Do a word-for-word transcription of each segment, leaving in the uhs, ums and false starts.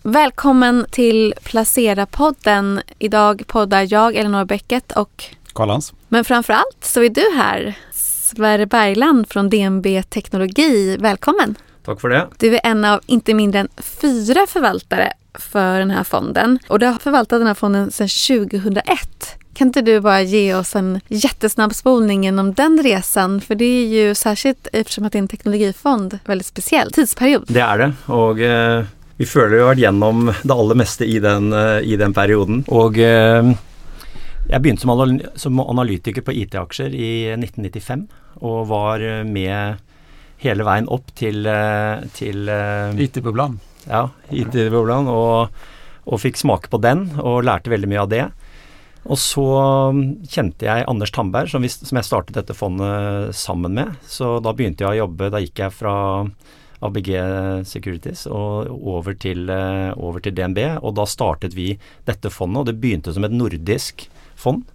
Välkommen till Placera-podden. Idag poddar jag, Elinor Bäcket och Karl-Hans. Men framförallt så är du här, Sverre Bergland från D N B Teknologi. Välkommen. Tack för det. Du är en av inte mindre än fyra förvaltare för den här fonden. Och du har förvaltat den här fonden sedan tjugohundraett. Kan inte du bara ge oss en jättesnabb spolning genom den resan? För det är ju särskilt, eftersom att det är en teknologifond, väldigt speciell tidsperiod. Det är det. Och eh, vi føler jo vært gjennom det aller meste i den, eh, i den perioden. Og eh, jeg begynte som, anal som analytiker på I T-aksjer i nitten nittifem. Og var med hele veien opp til, til eh, I T-bubblan. Ja, I T-bubblan. Og, og fikk smake på den, og lærte veldig mye av det. Og så kjente jeg Anders Tamberg, som, vi, som jeg startet dette fondet sammen med. Så da begynte jeg å jobbe, da gikk jeg fra A B G Securities og over til, over til D N B. Og da startet vi dette fondet, og det begynte som et nordisk fond.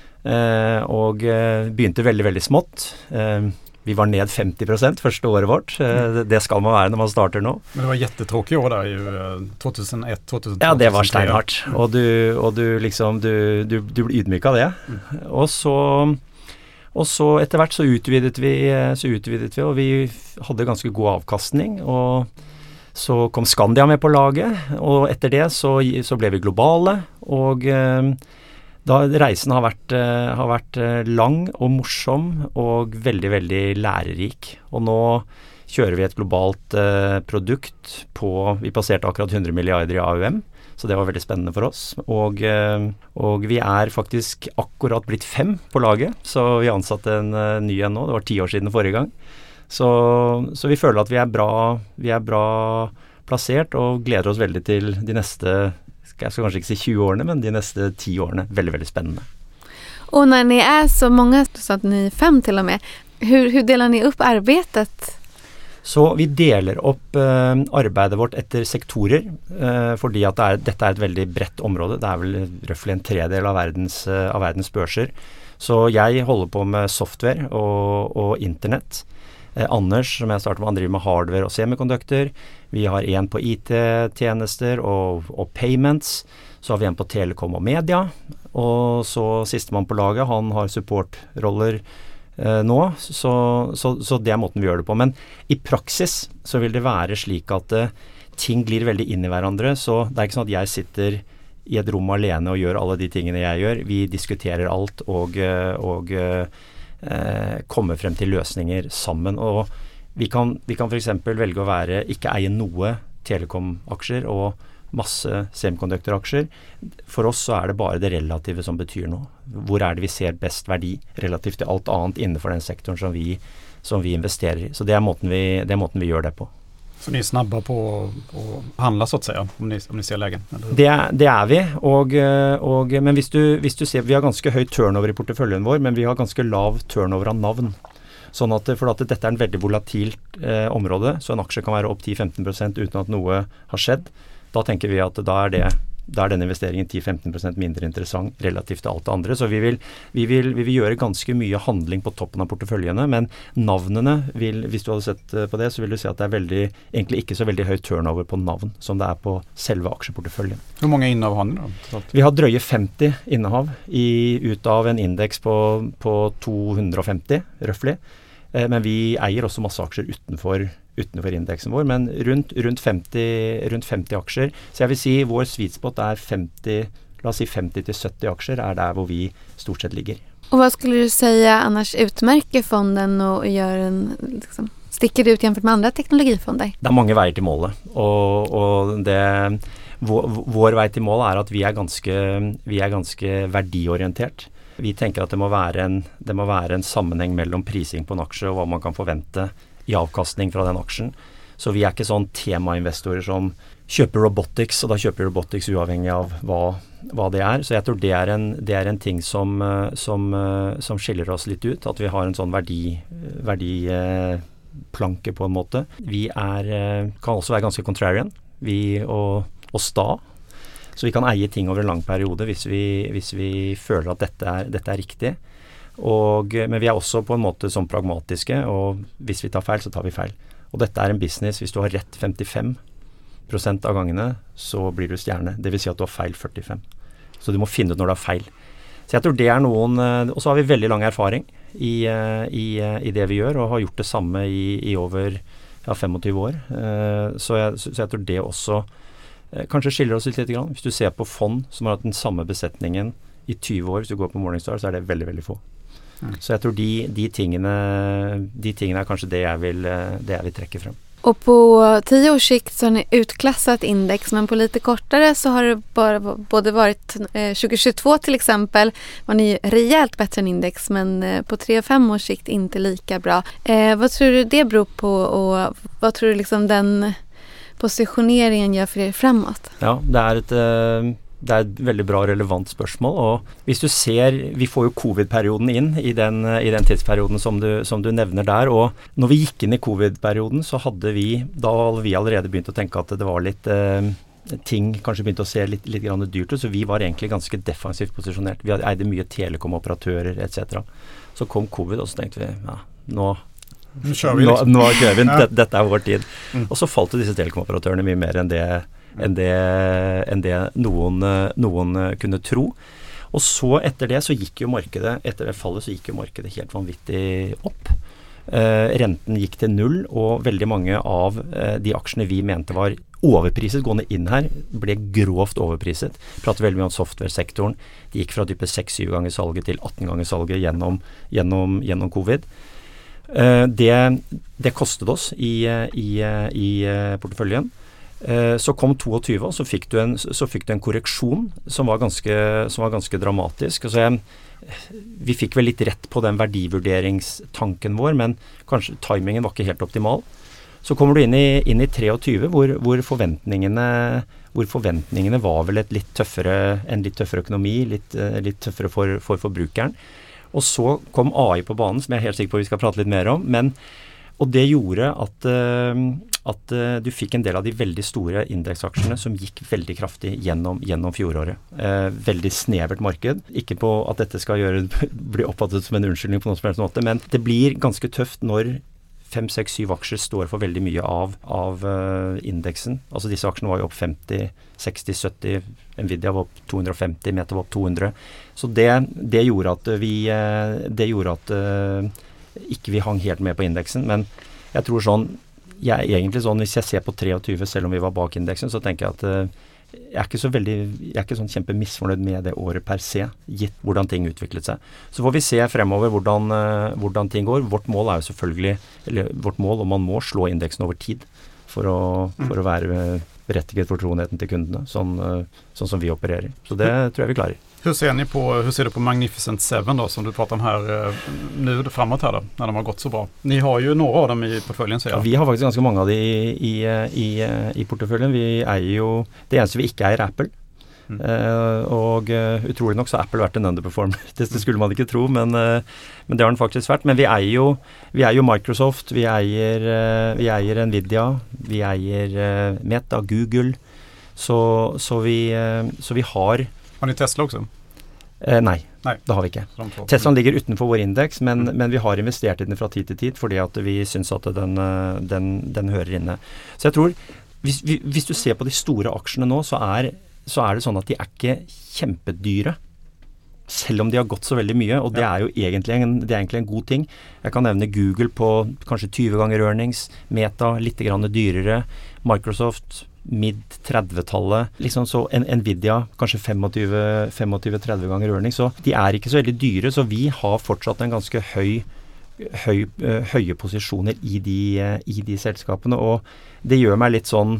Eh, og begynte veldig, veldig smått. Eh, Vi var ned femtio procent första året vårt. Det ska man vara när man startar nu. Men det var jättetråkigt år där ju tjugohundraett tjugohundratvå. Ja, det var steinhardt. Och du och du liksom du du du blir ydmyk av det. Mm. Och så och så efterhvert så utvidet vi så utvidet vi och vi hade ganska god avkastning och så kom Skandia med på laget och efter det så så blev vi globala och da reisen har vært, uh, har vært uh, lang og morsom og veldig, veldig lærerik. Og nå kjører vi et globalt uh, produkt på, vi passerte akkurat hundre milliarder i A U M, så det var veldig spennende for oss. Og, uh, og vi er faktisk akkurat blitt fem på laget, så vi ansatte en uh, ny en nå, det var ti år siden forrige gang. Så, så vi føler at vi er bra, vi er bra plassert og gleder oss veldig til de neste jag ska kanske inte säga tjugo åren, men de nästa tio åren väldigt väldigt spännande. Och när ni är så många, så att ni är fem till och med, hur hur delar ni upp arbetet? Så vi delar upp eh, arbetet vårt efter sektorer eh, fordi att det är, detta är ett väldigt brett område. Det är väl ungefär en tredjedel av världens eh, av världens börser. Så jag håller på med software och och internet. Eh, Anders, som jag startade med, han driver med hardware och semiconductor. Vi har en på I T-tjänster och, och payments. Så har vi en på telekom och media. Och så siste man på laget, han har supportroller eh, nå. Så, så, så det är måten vi gör det på. Men i praxis så vill det vara slik att eh, ting glir väldigt in i varandra. Så det är inte så att jag sitter i ett rum alene och gör alla de tingene jag gör. Vi diskuterar allt och, och Eh, komme frem til løsninger sammen, og vi kan, vi kan for eksempel velge å være, ikke eie noe telekom-aksjer og masse semiconductor-aksjer. For oss så er det bare det relative som betyr noe. Hvor er det vi ser best verdi relativt til alt annet innenfor den sektoren som vi, som vi investerer i. Så det er måten vi, det er måten vi gjør det på. Så ni är snabba på att handla så att säga, om ni, om ni ser lägen? Det, det är vi, och, och, men hvis du, hvis du ser, vi har ganska hög turnover i porteføljen vår, men vi har ganska lav turnover av navn. Sånn at, for at dette er en veldig volatilt eh, område, så en aksje kan være opp ti til femten prosent uten at noe har skjedd. Da tenker vi at da er det da er den investeringen ti til femten prosent mindre interessant relativt til alt det andre. Så vi vil, vi, vil, vi vil gjøre ganske mye handling på toppen av porteføljene, men navnene vil, hvis du hadde sett på det, så vil du se at det er veldig, egentlig ikke så veldig høy turnover på navn som det er på selve aksjeporteføljen. Hvor mange innehav har ni da? Vi har drøye femti innehav i, ut av en indeks på, på to hundre og femti, røftlig. Eh, men vi eier også masse aksjer utenfor utenfor indeksen vår, men rundt, rundt, femti, rundt femti aksjer. Så jeg vil si vår sweet spot er femti, la oss si femti til sytti aksjer er der hvor vi stort sett ligger. Och vad skulle du säga annars utmärker fonden och gör en, liksom, sticker det ut jämfört med andra teknologifonder? Det er mange veier til målet, og, og det, vår, vår vei til målet er at vi er ganske, vi er ganske verdiorientert. Vi tenker at det må være en, det må være en sammenheng mellom prising på en aksje og hva man kan forvente i avkastning fra den aksjen. Så vi er ikke sånn temainvestorer som kjøper robotics, og da kjøper robotics uavhengig av hva, hva det er. Så jeg tror det er en, det er en ting som, som, som skiller oss litt ut, at vi har en sånn verdi, verdiplanke på en måte. Vi er, kan også være ganske contrarian, vi og, og sta. Så vi kan eie ting over en lang periode hvis vi, hvis vi føler at dette er, dette er riktig. Og, men vi er også på en måte som pragmatiske, og hvis vi tar feil, så tar vi feil. Og dette er en business, hvis du har rett femtifem prosent av gangene så blir du stjerne. Det vil si at du har feil førtifem. Så du må finne ut når du har feil. Så jeg tror det er noen, og så har vi veldig lang erfaring i, i, i det vi gjør, og har gjort det samme i, i over ja, tjuefem år. Så jeg, så jeg tror det også kanskje skiller oss litt litt grann. Hvis du ser på fond som har hatt den samme besetningen i tjue år, hvis du går på Morningstar, så er det veldig, veldig få. Mm. Så jeg tror de, de, tingene, de tingene er kanskje det jeg vil, det jeg vil trekke frem. Och på tio års sikt så har ni utklassat index, men på lite kortare så har det bara både varit eh, tjugohundratjugotvå till exempel var ni rejält bättre än index, men eh, på tre och fem års sikt inte lika bra. Eh, vad tror du det beror på, och vad tror du liksom den positioneringen gör för er framåt? Ja, det är ett eh... Det er et veldig bra relevant spørsmål, og hvis du ser, vi får jo covid-perioden inn i den, i den tidsperioden som du, som du nevner der, og når vi gikk inn i covid-perioden så hadde vi, da hadde vi allerede begynt å tenke at det var litt, eh, ting kanskje begynte å se litt, litt grann dyrt ut, så vi var egentlig ganske defensivt posisjonert. Vi eide mye telekom-operatører et cetera. Så kom covid, og så tenkte vi, ja, nå Nå kjører vi liksom. Nå, nå kjører vi, dette, dette er vår tid. Mm. Og så falt disse telekom-operatørene mye mer enn det enn det, enn det noen, noen kunne tro. Og så etter det så gikk jo markedet, etter det fallet så gikk jo markedet helt vanvittig opp. Eh, renten gikk til null, og veldig mange av eh, de aksjene vi mente var overpriset gående inn her, ble grovt overpriset. Prater veldig mye om software-sektoren. De gikk fra type seks syv ganger salget til atten ganger salget gjennom, gjennom, gjennom covid. Eh, det, det kostet oss i, i, i porteføljen. Så kom tjueto, og så fikk du en, så fikk du en korreksjon som var ganske, som var ganske dramatisk. Altså jeg, vi fikk vel litt rett på den verdivurderingstanken vår, men kanskje timingen var ikke helt optimal. Så kommer du inn i, inn i tjuetre, hvor, hvor, forventningene, hvor forventningene var vel et litt tøffere, en litt tøffere økonomi, litt, litt tøffere for, for forbrukeren. Og så kom A I på banen, som jeg er helt sikker på vi skal prate litt mer om, men og det gjorde at, at du fikk en del av de veldig store indeksaksjene som gikk veldig kraftig gjennom, gjennom fjoråret. Eh, veldig snevert marked. Ikke på at dette skal gjøre, bli oppfattet som en unnskyldning på noen som helst måte, men det blir ganske tøft når fem, seks, syv aksjer står for veldig mye av, av uh, indeksen. Altså disse aksjene var jo opp femti, seksti, sytti, Nvidia var opp to hundre og femti, Meta var opp to hundre. Så det, det gjorde at vi, det gjorde at uh, ikke vi hang helt med på indeksen, men jeg tror sånn, jeg egentlig sånn, hvis jeg ser på tjuetre, selv om vi var bak indeksen, så tenker jeg at uh, jeg er ikke så veldig, jeg er ikke sånn kjempe misfornøyd med det året per se, gitt hvordan ting utviklet seg. Så får vi se fremover hvordan, uh, hvordan ting går. Vårt mål er jo selvfølgelig, eller vårt mål, om man må slå indeksen over tid for å, for å være berettiget fortroenheten til kundene, sånn, uh, sånn som vi opererer. Så det tror jeg vi klarer. Hur ser ni på, hur ser du på Magnificent Seven då, som du pratar om här eh, nu framåt här då, när de har gått så bra? Ni har ju några av dem i portföljen, säger jag. Ja, vi har faktiskt ganska många av det i, i, i, i portföljen. Vi är ju, det eneste vi ikke er Apple. Mm. Uh, og uh, utrolig nok så har Apple vært en underperformer. det, det skulle man ikke tro, men, uh, men det har den faktisk vært. Men vi eier jo, vi eier jo Microsoft, vi eier, uh, vi eier Nvidia, vi eier uh, Meta, Google. Så, så, vi, uh, så vi har... Har ni Tesla også? Eh, nei, nei, det har vi ikke. Tesla ligger utenfor vår indeks, men, mm. men vi har investert i den fra tid til tid, fordi at vi synes at den, den, den hører inne. Så jeg tror, hvis, hvis du ser på de store aksjene nå, så er, så er det sånn at de er ikke kjempedyre, selv om de har gått så veldig mye, og det er jo egentlig en, det er egentlig en god ting. Jeg kan nevne Google på kanskje tjue ganger earnings, Meta litt grann dyrere, Microsoft mid tretti-tallet, liksom så en, Nvidia kanskje tjuefem til tretti ganger earnings, så de er ikke så veldig dyre, så vi har fortsatt en ganske høy, høy, uh, høye posisjoner i de, uh, i de selskapene, og det gjør meg litt sånn,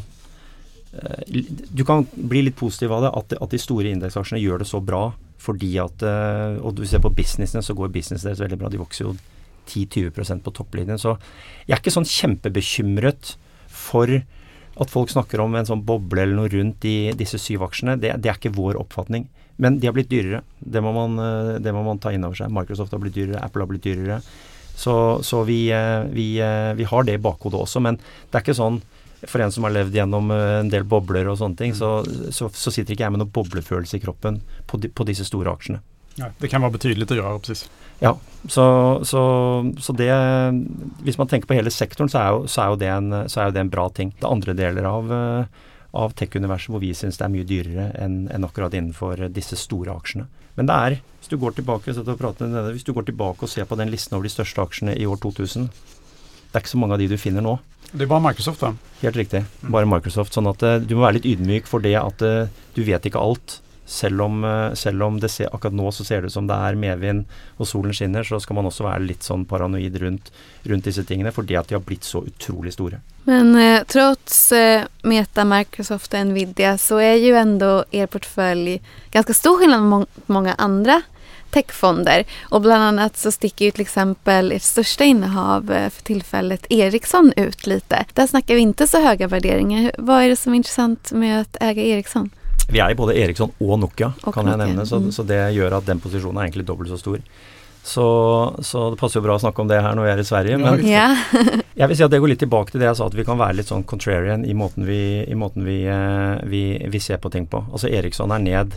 uh, du kan bli litt positiv av det, at, at de store indeksaksjene gjør det så bra, fordi at, uh, og du ser på businessene, så går business deres veldig bra, de vokser jo ti til tjue prosent på topplinjen, så jeg er ikke sånn kjempebekymret for at folk snakker om en sånn boble eller noe rundt i disse syv aksjene, det, det er ikke vår oppfatning. Men de har blitt dyrere. Det må man, det må man ta inn over seg. Microsoft har blitt dyrere, Apple har blitt dyrere. Så, så vi, vi, vi har det i bakhodet også, men det er ikke sånn, for en som har levd gjennom en del bobler og sånne ting, så, så, så sitter ikke jeg med noen boblefølelse i kroppen på, de, på disse store aksjene. Ja, det kan være betydelig å gjøre, precis. Ja, så, så, så det, hvis man tenker på hele sektoren, så er jo, så er jo, det, en, så er jo det en bra ting. Det andre deler av, av tech-universet hvor vi synes det er mye dyrere enn, enn akkurat innenfor disse store aksjene. Men det er, hvis du går tilbake, og prater med denne, hvis du går tilbake og ser på den listen over de største aksjene i år to tusen, det er ikke så mange av de du finner nå. Det er bare Microsoft da? Helt riktig, bare Microsoft. Sånn at du må være litt ydmyk for det at du vet ikke alt. Selv om, selv om det ser, akkurat nå så ser det ut som det er medvind og solen skinner, så skal man også være litt sånn paranoid rundt, rundt disse tingene, fordi at de har blitt så utrolig store. Men eh, trots eh, Meta, Microsoft och Nvidia så är ju ändå er portfölj ganska stor skillnad mot många andra techfonder. Och bland annat så sticker ju till exempel ert största innehav eh, för tillfället Ericsson ut lite. Där snackar vi inte så höga värderingar. Vad är det som är intressant med att äga Ericsson? Vi er i både Ericsson og Nokia, og kan Nokia. jeg nevne, så, mm. så det gjør at den posisjonen er egentlig dobbelt så stor. Så, så det passer jo bra å snakke om det her når vi er i Sverige, men Ja. jeg vil si at det går litt tilbake til det jeg sa, at vi kan være litt sånn contrarian i måten vi, i måten vi, eh, vi, vi ser på ting på. Altså Ericsson er ned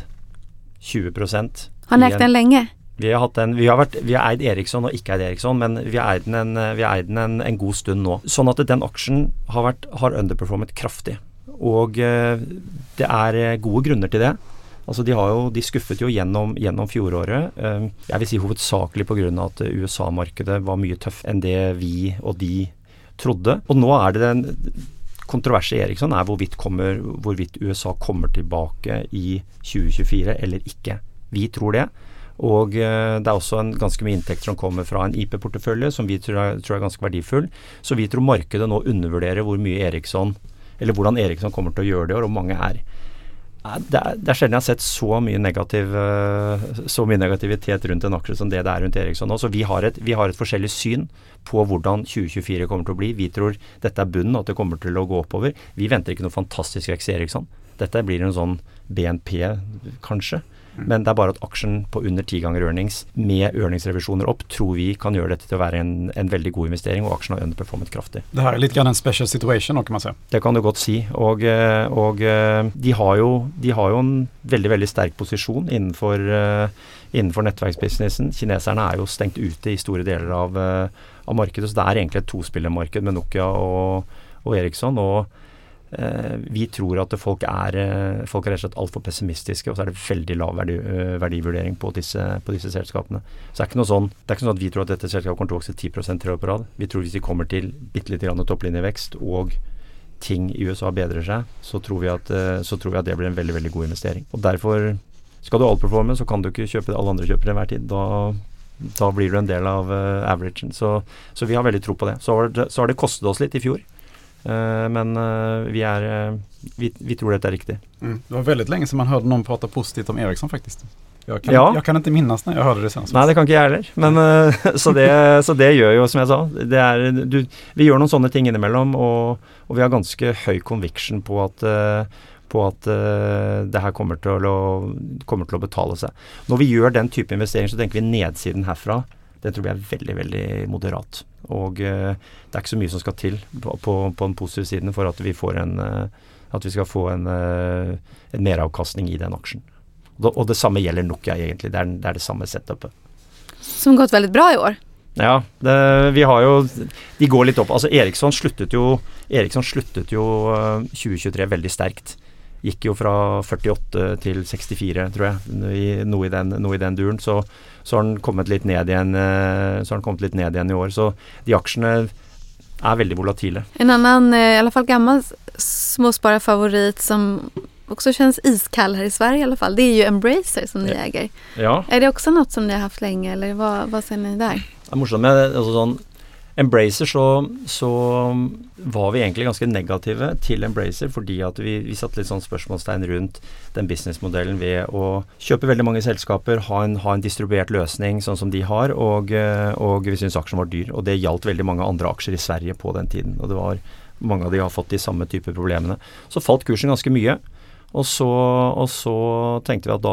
tjue prosent. Har ni ägt den länge? Vi har, hatt en, vi, har vært, vi har eid Ericsson og ikke eid Ericsson, men vi har eid den, en, vi har eid den en, en god stund nå. Sånn at den aksjen har, vært, har underperformet kraftig. Og eh, det er gode grunner til det. Altså de, har jo, de skuffet jo gjennom, gjennom fjoråret. Eh, jeg vil si hovedsakelig på grunn av at U S A-markedet var mye tøff enn det vi og de trodde. Og nå er det den kontroverset i Ericsson er hvorvidt, kommer, hvorvidt U S A kommer tilbake i tjue tjuefire eller ikke. Vi tror det. Og eh, det er også en ganske mye inntekt som kommer fra en I P-portefølje som vi tror er, tror er ganske verdifull. Så vi tror markedet nå undervurderer hvor mye Ericsson eller hvordan Ericsson kommer til å gjøre det, og hvor mange er. Det er, det er sjelden jeg har sett så mye, negativ, så mye negativitet rundt en aksje som det det er rundt Ericsson nå. Så vi har, et, vi har et forskjellig syn på hvordan tjue tjuefire kommer til å bli. Vi tror dette er bunnen, at det kommer til å gå oppover. Vi venter ikke noe fantastisk vekst i Ericsson. Dette blir en sånn B N P, kanskje. Men det er bare at aksjen på under ti ganger earnings med earningsrevisjoner opp tror vi kan gjøre dette til å være en, en veldig god investering, og aksjen har underperformet kraftig. Det her er litt grann en special situation, kan man si. Det kan du godt si, og, og de, har jo, de har jo en veldig, veldig sterk posisjon innenfor, innenfor nettverksbusinessen. Kineserne er jo stengt ute i store deler av, av markedet, så det er egentlig et tospillermarked med Nokia og, og Ericsson, og vi tror at folk er, folk er rett og slett alt for pessimistiske, og så er det veldig lav verdi, verdivurdering på disse, på disse selskapene. Så det er ikke noe sånn, det er ikke sånn at vi tror at dette selskapet kommer til å vokse ti prosent tre år på rad. Vi tror hvis de kommer til bitte litt grann topplinjevekst, og ting i U S A bedrer seg, så tror vi at, så tror vi at det blir en veldig, veldig god investering. Og derfor skal du outperforme, så kan du ikke kjøpe det alle andre kjøper i hver tid. Da, da blir du en del av uh, averagen. Så, så vi har veldig tro på det. Så har det, så har det kostet oss litt i fjor. Uh, men uh, vi, er, uh, vi, vi tror dette er riktig. Mm. Det var väldigt länge sedan man hörde någon prata positivt om Ericsson faktiskt. Jag kan, ja. jag kan inte minnas när jag hörde det senast. Nei, det kan ikke jeg heller. Men, uh, så, det, så det gjør jo, som jeg sa, det er, du, vi gjør noen sånne ting innimellom, og, og vi har ganske høy conviction på at, uh, på at uh, det her kommer til, å, kommer til å betale seg. Når vi gjør den type investering, så tenker vi nedsiden herfra. Det tror jeg er veldig, veldig moderat. Og uh, det er ikke så mye som skal til på, på, på den positive siden for at vi, får en, uh, at vi skal få en, uh, en meravkastning i den aksjen. Og, og det samme gjelder Nokia egentlig. Det er, det er det samme setupet. Som gått veldig bra i år. Ja, det, vi har jo, de går litt opp. Altså Ericsson sluttet jo, Ericsson sluttet jo uh, tjue tjuetre veldig sterkt. Gikk jo fra førtiåtte til sekstifire, tror jeg, i, noe, i den, noe i den duren. Så, så har den kommet litt ned igjen, så har den kommet litt ned igjen i år. Så de aksjene er veldig volatile. En annan, i alla fall gammal småspararfavorit som också känns iskall här i Sverige i alla fall, det är ju Embracer som ni äger. Ja. Är det också något som ni har haft länge, eller vad, vad ser ni där? Det er morsomt med altså sånn Embracer, så, så var vi egentlig ganske negative til Embracer, fordi at vi, vi satt litt sånn spørsmålstegn rundt den businessmodellen ved å kjøpe veldig mange selskaper, ha en, ha en distribuert løsning sånn som de har, og, og vi synes aksjen var dyr, og det gjaldt veldig mange andre aksjer i Sverige på den tiden, og det var mange av de har fått de samme type problemene. Så falt kursen ganske mye, og så, og så tenkte vi at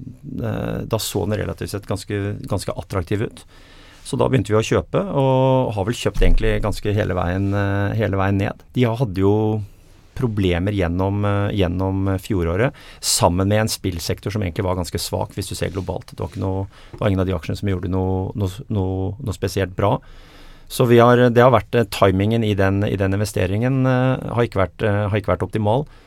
da, da så den relativt sett ganske, ganske attraktiv ut. Så da begynte vi å kjøpe, og har vel kjøpt egentlig ganske hele veien, hele veien ned. De hadde jo problemer gjennom, gjennom fjoråret, sammen med en spillsektor som egentlig var ganske svak, hvis du ser globalt. Det var, ikke noe, det var ingen av de aksjene som gjorde noe, noe, noe, noe spesielt bra. Så vi har, det har vært timingen i den, i den investeringen uh, har, ikke vært, uh, har ikke vært optimal.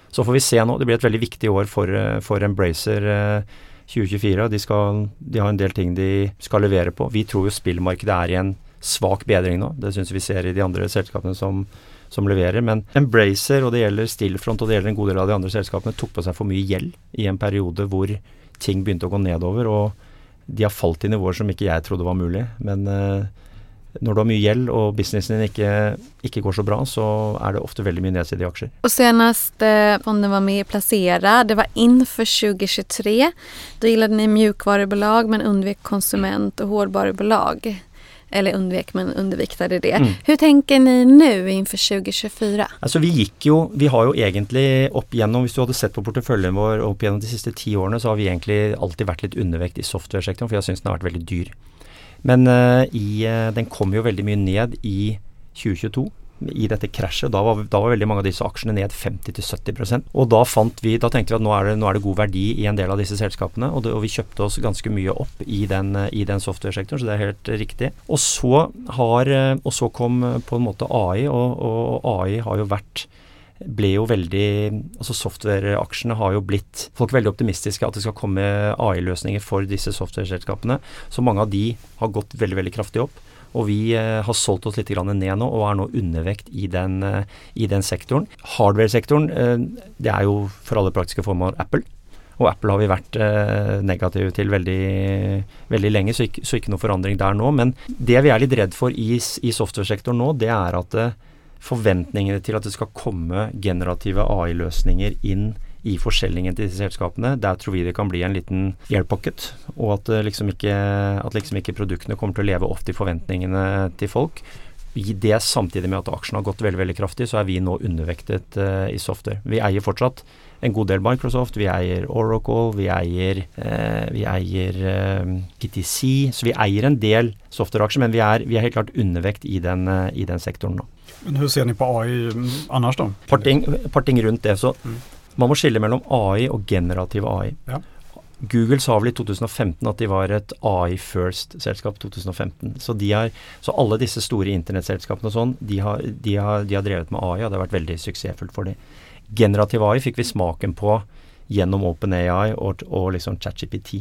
Så får vi se nå, det blir et veldig viktig år for, for Embracer tjue tjuefire. De, skal, de har en del ting de skal levere på. Vi tror jo spillmarkedet er i en svak bedring nå. Det synes vi ser i de andre selskapene som, som leverer. Men Embracer, og det gjelder Stillfront, og det gjelder en god del av de andre selskapene, tok på seg for mye gjeld i en periode hvor ting begynte å gå nedover, og de har falt i nivåer som ikke jeg trodde var mulig. Men eh, når du har mye gjeld og businessen din ikke, ikke går så bra, så er det ofte veldig mye nedsidig i aksjer. Och senast eh, fonden var med placera, det var inför tjue tjuetre. Då gillade ni mjukvarubolag men undvek konsument- och hårdvarubolag. Eller undvek, men underviktade det. Mm. Hur tänker ni nu inför tjue tjuefire? Altså vi gikk jo, vi har jo egentlig opp gjennom, hvis du hadde sett på porteføljen vår opp gjennom de siste ti årene, så har vi egentlig alltid vært litt undervekt i software-sektoren, for jeg synes den har vært veldig dyr. Men uh, i, uh, den kom jo veldig mye ned i tjue tjueto, i dette krasjet. Da var, da var veldig mange av disse aksjene ned femti til sytti prosent. Og da fant vi, da tenkte vi at nå er, det, nå er det god verdi i en del av disse selskapene, og, det, og vi kjøpte oss ganske mye opp i den, i den software-sektoren, så det er helt riktig. Og så, har, og så kom på en måte A I, og, og A I har jo vært ble jo veldig, altså software-aksjene har jo blitt, folk er veldig optimistiske at det skal komme A I-løsninger for disse software-selskapene, så mange av de har gått veldig, veldig kraftig opp. Og vi eh, har solgt oss litt grann ned nå, og er nå undervekt i den, eh, i den sektoren. Hardware-sektoren, eh, det er jo for alle praktiske formål Apple. Og Apple har vi vært eh, negative til veldig, veldig lenge, så ikke, så ikke noe forandring der nå. Men det vi er litt redd for i, i software-sektoren nå, det er at eh, forventningene til at det skal komme generative A I-løsninger inn i forskjellingen til disse selskapene, der tror vi det kan bli en liten air pocket, og at liksom ikke, at liksom ikke produktene kommer til å leve opp til forventningene til folk. I det samtidig med at aksjen har gått veldig, veldig kraftig, så er vi nå undervektet uh, i software. Vi eier fortsatt en god del Microsoft, vi eier Oracle, vi eier, uh, vi eier uh, P T C, så vi eier en del software-aksjer, men vi er, vi er helt klart undervekt i den, uh, i den sektoren nå. Men hur ser ni på A I annars då? Par ting, par ting rundt det, så mm. man må skille mellom A I og generativ A I. Ja. Google sa vel i to tusen og femten at de var et A I first-selskap to tusen og femten. Så, de har, så alle disse store internettselskapene og sånn, de har, de, har, de har drevet med A I, og det har vært veldig suksessfullt for dem. Generativ A I fikk vi smaken på gjennom OpenAI og, og liksom ChatGPT.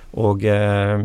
Og eh,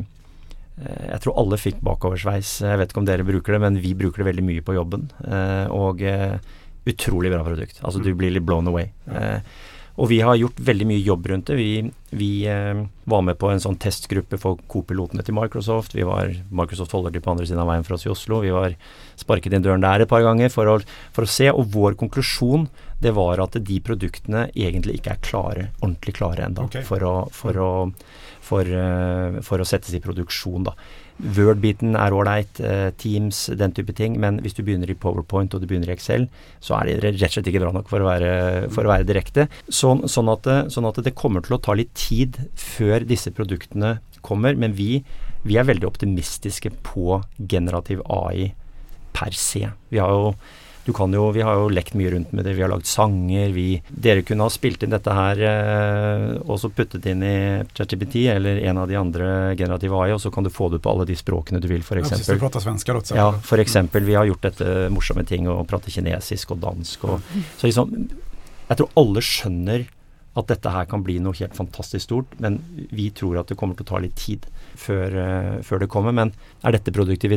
jeg tror alle fikk bakoversveis. Jeg vet ikke om dere bruker det, men vi bruker det veldig mye på jobben. Eh, og eh, utrolig bra produkt. Altså du blir litt blown away. Ja. Eh, og vi har gjort veldig mye jobb rundt det. Vi, vi eh, var med på en sånn testgruppe for co-pilotene til Microsoft. Vi var, Microsoft holder de på andre siden av veien for oss i Oslo. Vi var sparket inn døren der et par ganger for å, for å se, og vår konklusjon, det var at de produktene egentlig ikke er klare, ordentlig klare enda, okay. for, å, for, å, for, uh, for å settes i produksjon da. Word-biten er ålreit, uh, Teams, den type ting, men hvis du begynner i PowerPoint og du begynner i Excel, så er det rett og slett ikke bra nok for å være, for å være direkte. Så, sånn, at, sånn at det kommer til å ta litt tid før disse produktene kommer, men vi, vi er veldig optimistiske på generativ A I per se. Vi har jo Du kan jo, vi har jo lekt mye rundt med det, vi har lagd sanger, vi, dere kunne ha spilt inn dette her eh, og så puttet inn i ChatGPT eller en av de andre generative A I, og så kan du få det på alle de språkene du vil, for eksempel. Ja, precis, du prater svenska også. Ja, for eksempel, vi har gjort dette morsomme ting og prater kinesisk og dansk, og, så liksom, jeg tror alle skjønner at dette her kan bli noe helt fantastisk stort, men vi tror at det kommer til å ta litt tid før, uh, før det kommer, men er dette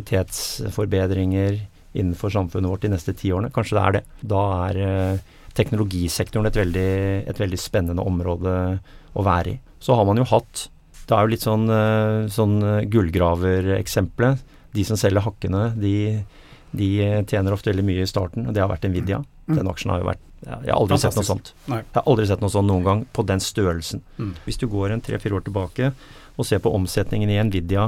produktivitetsforbedringer innenfor samfunnet vårt de neste ti årene? Kanskje det er det. Da er eh, teknologisektoren et veldig, et veldig spennende område å være i. Så har man jo hatt, det er jo litt sånn, eh, sånn gullgraver-eksemplet. De som selger hakkene, de, de tjener ofte veldig mye i starten, og det har vært Nvidia. Mm. Den aksjen har jo vært, ja, jeg har aldri Fantastisk. sett noe sånt. Nei. Jeg har aldri sett noe sånt noen gang på den størrelsen. Mm. Hvis du går en tre-fire år tilbake og ser på omsetningen i Nvidia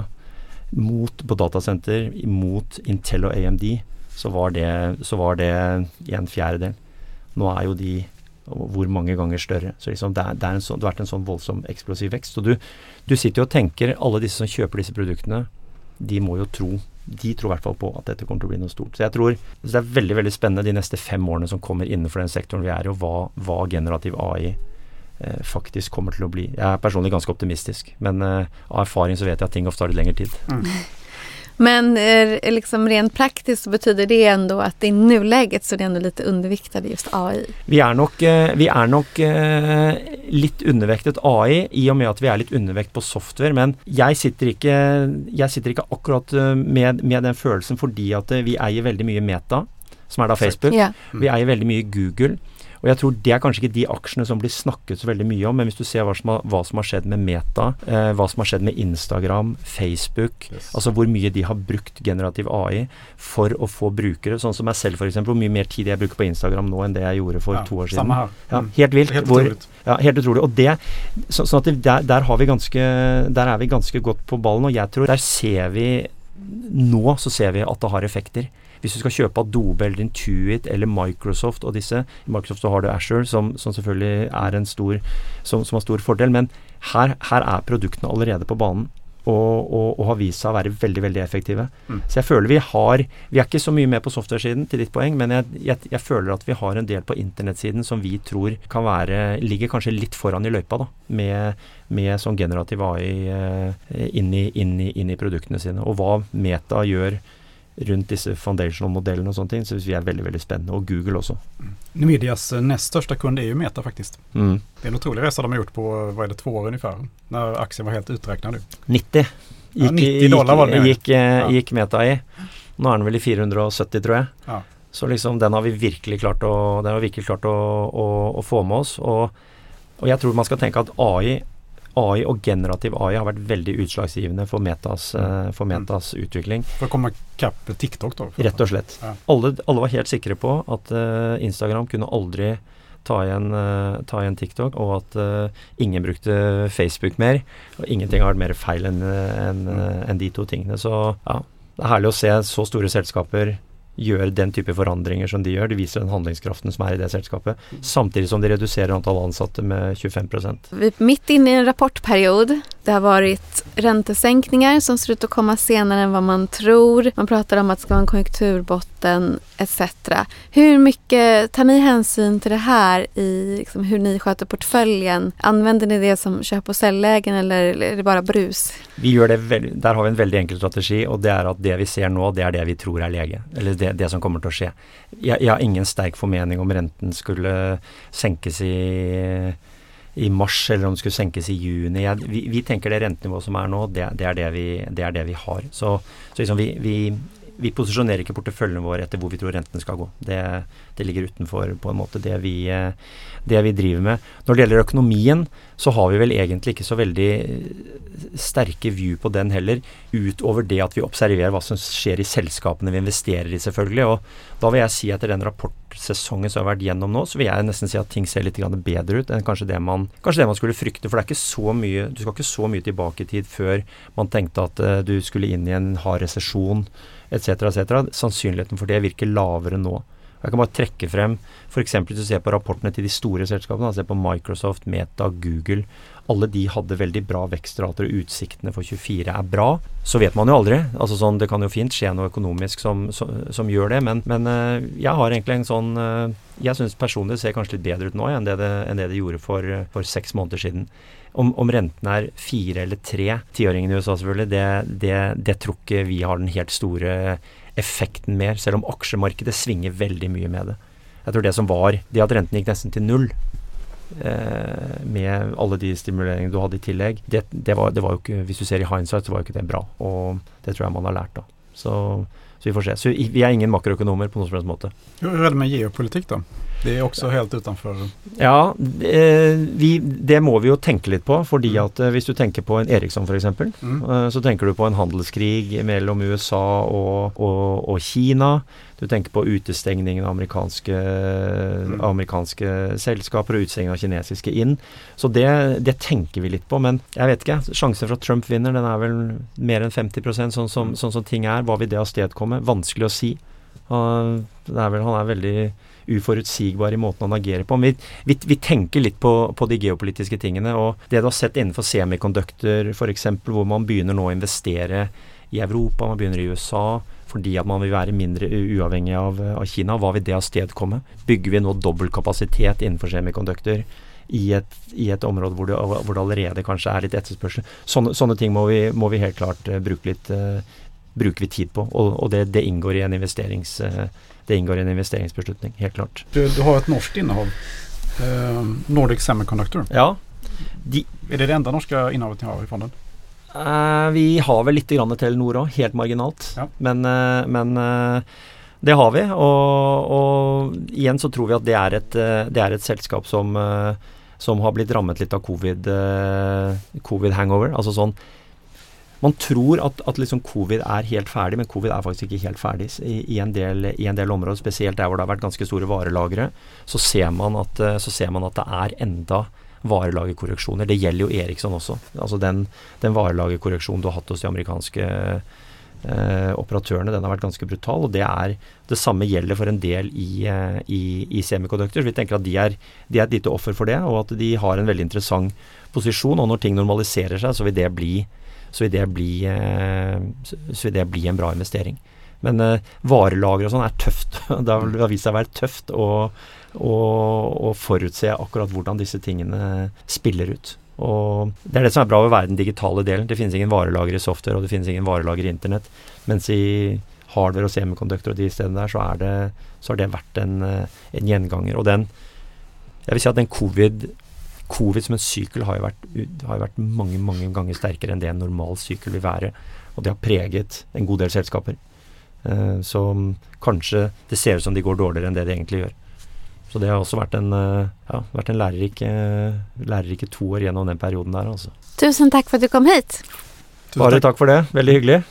mot, på datasenter, mot Intel og A M D, så var det, så var det en fjerdedel. Nå er jo de hvor mange ganger større. Så liksom det, er, det, er en sånn, det har vært en sånn voldsom eksplosiv vekst. Så du, du sitter jo og tenker, alle disse som kjøper disse produktene, de må jo tro, de tror i hvert fall på at dette kommer til å bli noe stort. Så jeg tror det er veldig, veldig spennende de neste fem årene som kommer innenfor den sektoren vi er i, og hva, hva generativ A I eh, faktisk kommer til å bli. Jeg er personlig ganske optimistisk, men eh, av erfaring så vet jeg at ting ofte tar litt lengre tid. Mm. Men eh, liksom rent praktiskt så betyder det ändå att i nuläget så är det ändå lite underviktade just A I. Vi er nok, eh, vi er nok eh, litt undervektet A I i og med at vi er litt undervekt på software, men jeg sitter ikke, jeg sitter ikke akkurat eh, med, med den følelsen fordi at eh, vi eier veldig mye Meta, som er da Facebook. Ja. Vi eier veldig mye Google. Og jeg tror det er kanskje ikke de aksjene som blir snakket så veldig mye om, men hvis du ser hva som har, hva som har skjedd med Meta, eh, hva som har skjedd med Instagram, Facebook, yes. altså hvor mye de har brukt generativ A I for å få brukere, sånn som meg selv for eksempel, hvor mye mer tid jeg bruker på Instagram nå enn det jeg gjorde for ja, to år siden. Samme her. Ja, helt vilt. Helt hvor, utroligt. Ja, helt utrolig. Og det, så, sånn at det, der, der, har vi ganske, der er vi ganske godt på ballen, og jeg tror der ser vi, nå så ser vi at det har effekter. Hvis du skal kjøpe Adobe eller Intuit eller Microsoft og disse, i Microsoft så har du Azure som, som selvfølgelig er en stor, som, som har stor fordel, men her, her er produktene allerede på banen og, og, og har vist seg å være veldig, veldig effektive. Mm. Så jeg føler vi har, vi er ikke så mye med på software-siden til ditt poeng, men jeg, jeg, jeg føler at vi har en del på internettsiden som vi tror kan være, ligger kanskje litt foran i løypa da, med, med sånn generativ A I eh, inn, i, inn, i, inn i produktene sine, og hva Meta gjør rundt disse foundational-modellene og sånne ting, så vi er veldig, veldig spennende, og Google også. Mm. Nvidias näst största kund är ju Meta faktiskt. Mm. Det är en otrolig resa de har gjort på, vad är det, två år ungefär, när aktien var helt uträknad nu. nittio. Gick, ja, nittio dollar var det. Gick, ja. gick Meta i. Nå er den vel i fire hundre og sytti, tror jeg. Ja. Så liksom, den har vi virkelig klart å, den har vi virkelig klart å, å, å få med oss, og, og jeg tror man skal tenke at A I A I og generativ A I har vært veldig utslagsgivende for Metas, uh, for Metas mm. utvikling. For å komme kapp TikTok da? Rett og slett. Ja. Alle, alle var helt sikre på at uh, Instagram kunne aldri ta igjen, uh, ta igjen TikTok, og at uh, ingen brukte Facebook mer, og ingenting har vært mer feil enn en, mm. en de to tingene. Så ja, det er herlig å se så store selskaper gjør den type forandringer som de gjør. Det viser den handlingskraften som er i det selskapet, samtidig som de reduserer antall ansatte med tjugofem prosent. Vi är mitt inne i en rapportperiod. Det har varit räntesänkningar som ser ut att komma senare än vad man tror. Man pratar om att det ska vara en konjunkturbotten et cetera. Hur mycket tar ni hänsyn till det här i liksom, hur ni sköter portföljen? Använder ni det som köp- och säljlägen eller är det bara brus? Vi gjør det veld- der har vi en veldig enkel strategi, og det er at det vi ser nå, det er det vi tror er lege. Eller det, det som kommer til å skje. Jeg, jeg har ingen sterk formening om renten skulle senkes i, i mars, eller om det skulle senkes i juni. Jeg, vi, vi tenker det rentenivået som er nå, det, det, er, det, vi, det er det vi har. Så, så liksom vi, vi, vi posisjonerer ikke porteføljen vår etter hvor vi tror renten skal gå. Det, det ligger utenfor på en måte det vi, det vi driver med. Når det gjelder økonomien, så har vi vel egentlig ikke så veldig sterke view på den heller, utover det at vi observerer hva som skjer i selskapene vi investerer i selvfølgelig, og da vil jeg si etter den rapportsesongen som har vært gjennom nå, så vil jeg nesten si at ting ser litt grann bedre ut enn kanskje det man, kanskje det man skulle frykte, for det er ikke så mye, du skal ikke så mye tilbake i tid før man tenkte at uh, du skulle inn i en hard resesjon, et cetera, et cetera. Sannsynligheten for det virker lavere nå. Jeg kan bare trekke frem, for eksempel hvis du ser på rapportene til de store selskapene, se på Microsoft, Meta, Google, alle de hadde veldig bra vekstrater, og utsiktene for tjuefire er bra. Så vet man jo aldri, altså sånn, det kan jo fint skje noe økonomisk som, som, som gjør det, men, men uh, jeg har egentlig en sånn, uh, jeg synes personlig ser kanskje litt bedre ut nå enn det det, enn det, det gjorde for, for seks måneder siden. Om, om renten er fire eller tre, tiåringen i U S A selvfølgelig, det, det, det tror ikke vi har den helt store effekten mer, selv om aksjemarkedet svinger veldig mye med det. Jeg tror det som var, det at renten gikk nesten til null, eh, med alle de stimuleringene du hadde i tillegg, det, det, var, det var jo ikke, hvis du ser i hindsight, så var jo ikke det bra, og det tror jeg man har lært da. Så, så vi får se. Så vi er ingen makroøkonomer på noen som helst måte. Hur är det med geopolitik då? Det är också helt utanför. Ja, eh, vi, det må vi jo tenke litt på, fordi at eh, hvis du tenker på en Ericsson for eksempel, mm. eh, så tenker du på en handelskrig mellom U S A og, og, og Kina. Du tenker på utestengningen av amerikanske, mm. amerikanske selskaper og utestengningen av kinesiske inn. Så det, det tenker vi litt på, men jeg vet ikke, sjansen for at Trump vinner, den er vel mer enn femti prosent, sånn som, sånn som ting er. Hva vil det avstedkomme? Vanskelig å si. Uh, det er vel, han er veldig uforutsigbar i måten han agerer på. Vi, vi, vi tenker litt på, på de geopolitiske tingene, og det du har sett innenfor semikondukter, for eksempel, hvor man begynner nå å investere i Europa, man begynner i U S A, fordi at man vil være mindre uavhengig av, av Kina. Hva vil det avstedkomme? Bygger vi nå dobbelt kapasitet innenfor semikondukter i et, i et område hvor det, hvor det allerede kanskje er litt etterspørsel? Sånne, sånne ting må vi, må vi helt klart uh, bruke litt uh, bruker vi tid på, og, og det, det, inngår i en investerings, det inngår i en investeringsbeslutning, helt klart. Du, du har et norsk innehåll, eh, Nordic Semiconductor. Ja. De, er det det enda norske innehavet ni har i fonden? Eh, vi har vel litt grann Telenor også, helt marginalt, ja. men, eh, men eh, det har vi, og, og igjen så tror vi at det er et, det er et selskap som, som har blitt rammet litt av covid, covid hangover, altså sånn. Man tror at, at liksom covid er helt ferdig, men covid er faktisk ikke helt ferdig i, i, en, del, i en del områder, spesielt der hvor det har vært ganske store varelagre. Så ser man at, så ser man at det er enda varelagerkorreksjoner. Det gjelder jo Ericsson også. Altså den, den varelagerkorreksjonen du har hatt hos de amerikanske eh, operatørene, den har vært ganske brutal, og det er det samme gjelder for en del i, i, i semikondukter. Så vi tenker at de er, de er et lite offer for det, og at de har en veldig interessant posisjon, og når ting normaliserer seg, så vil det bli så vil det bli, eh, så vil det bli en bra investering. Men eh, varelager og sånn er tøft. Det har vist seg å være tøft å, å, å forutse akkurat hvordan disse tingene spiller ut. Og det er det som er bra ved å være den digitale delen. Det finnes ingen varelager i software, og det finnes ingen varelager i internett. Mens i hardware og semikonduktor og de stedene der, så, er det, så har det vært en, en gjenganger. Og den, jeg vil si at den covid Covid som en sykel har jo vært, har jo vært mange, mange ganger sterkere enn det en normal sykel vil være. Og det har preget en god del selskaper. Eh, så kanskje det ser ut som de går dårligere enn det de egentlig gjør. Så det har også vært en, ja, vært en lærerik, lærerike to år gjennom den perioden der. Altså. Tusen takk for at du kom hit. Bare takk for det. Veldig hyggelig.